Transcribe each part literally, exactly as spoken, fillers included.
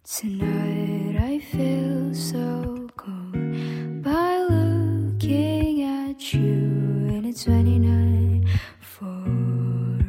Tonight I feel so cold by looking at you and it's twenty-nine four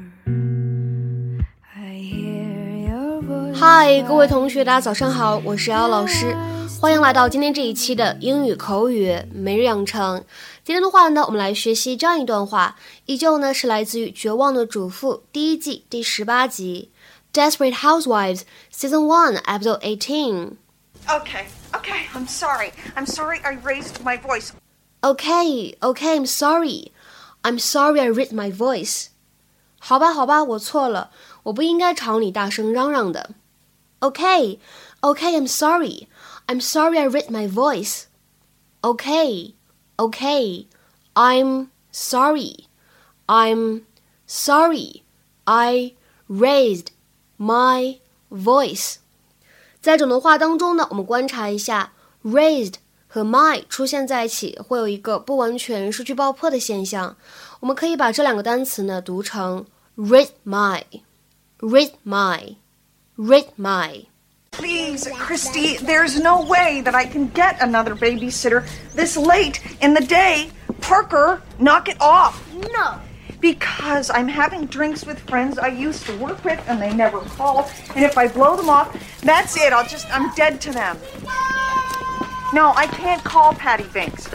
I hear your voice 嗨，各位同学大家早上好，我是姚老师，欢迎来到今天这一期的英语口语每日养成。今天的话呢，我们来学习这样一段话，依旧呢是来自于《绝望的主妇》第一季第十八集 Desperate Housewives Season one Episode eighteen Okay, okay, I'm sorry. I'm sorry I raised my voice. Okay, okay, I'm sorry. I'm sorry I raised my voice. 好吧，好吧，我错了，我不应该朝你大声嚷嚷的。Okay, okay, I'm sorry. I'm sorry I raised my voice. Okay, okay, I'm sorry. I'm sorry I raised my voice. 在整段话当中呢，我们观察一下 raised 和 my 出现在一起会有一个不完全失去爆破的现象，我们可以把这两个单词呢读成 raised my raised my raised my Please, Christy, there's no way that I can get another babysitter this late in the day. Parker, knock it off. No. Because I'm having drinks with friends I used to work with and they never call. And if I blow them off, that's it. I'll just, I'm dead to them. No, I can't call Patty Binks.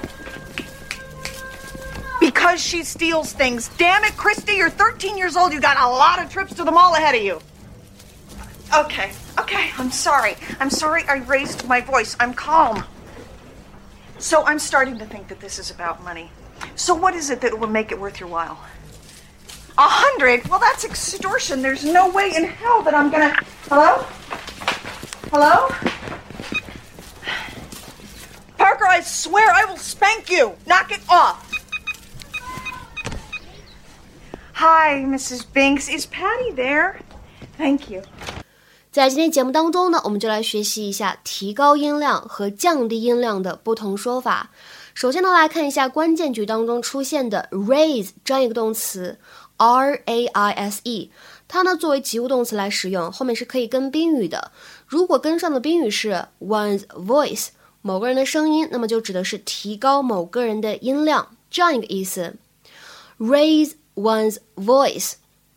Because she steals things. Damn it, Christy, you're thirteen years old. You got a lot of trips to the mall ahead of you. Okay, okay, I'm sorry. I'm sorry I raised my voice. I'm calm. So I'm starting to think that this is about money. So what is it that will make it worth your while? A hundred? Well, that's extortion. There's no way in hell that I'm gonna... Hello? Hello? Parker, I swear I will spank you. Knock it off. Hi, Missus Binks. Is Patty there? Thank you. 在今天节目当中呢，我们就来学习一下提高音量和降低音量的不同说法。首先呢，来看一下关键句当中出现的 raise 这样一个动词 R A I S E， 它呢作为及物动词来使用，后面是可以跟宾语的。如果跟上的宾语是 one's voice， 某个人的声音，那么就指的是提高某个人的音量，这样一个意思。raise one's voice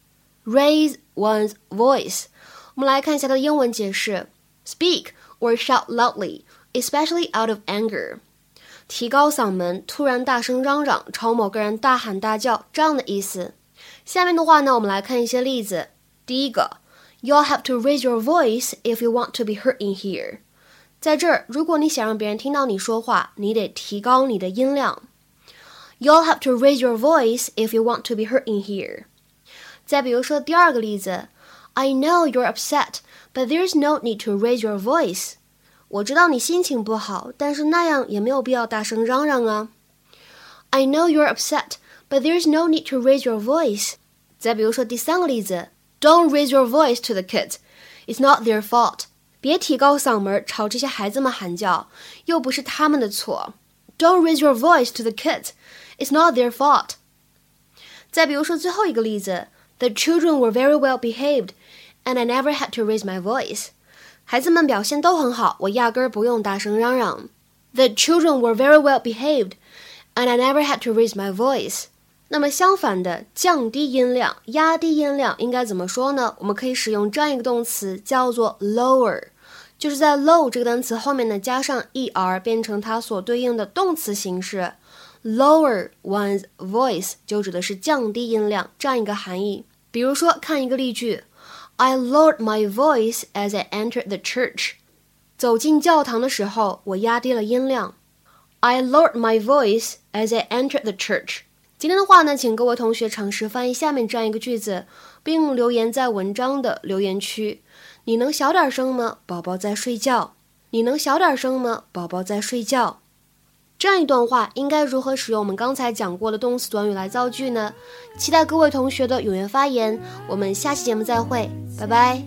raise one's voice， 我们来看一下它的英文解释 speak or shout loudly especially out of anger， 提高嗓门，突然大声嚷嚷，朝某个人大喊大叫，这样的意思。下面的话呢，我们来看一些例子。第一个 You'll have to raise your voice if you want to be heard in here， 在这儿，如果你想让别人听到你说话，你得提高你的音量。You'll have to raise your voice if you want to be heard in here。 再比如说第二个例子 I know you're upset, but there's no need to raise your voice。 我知道你心情不好，但是那样也没有必要大声嚷嚷啊。I know you're upset, but there's no need to raise your voice。 再比如说第三个例子 Don't raise your voice to the kids. It's not their fault。 别提高嗓门朝这些孩子们喊叫，又不是他们的错。Don't raise your voice to the kids.It's not their fault。 再比如说最后一个例子 The children were very well behaved and I never had to raise my voice。 孩子们表现都很好，我压根儿不用大声嚷嚷。 The children were very well behaved and I never had to raise my voice。 那么相反的，降低音量，压低音量应该怎么说呢？我们可以使用这样一个动词叫做 lower， 就是在 low 这个单词后面呢加上 er 变成它所对应的动词形式Lower one's voice 就指的是降低音量这样一个含义。比如说看一个例句 I lowered my voice as I entered the church。 走进教堂的时候，我压低了音量。 I lowered my voice as I entered the church。 今天的话呢，请各位同学尝试翻译下面这样一个句子，并留言在文章的留言区。你能小点声吗？宝宝在睡觉。你能小点声吗？宝宝在睡觉。这样一段话应该如何使用我们刚才讲过的动词短语来造句呢？期待各位同学的踊跃发言，我们下期节目再会，拜拜。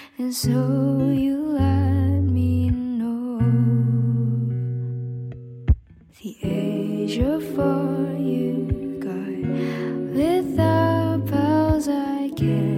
So you let me know the age of four you got. Without pals I can't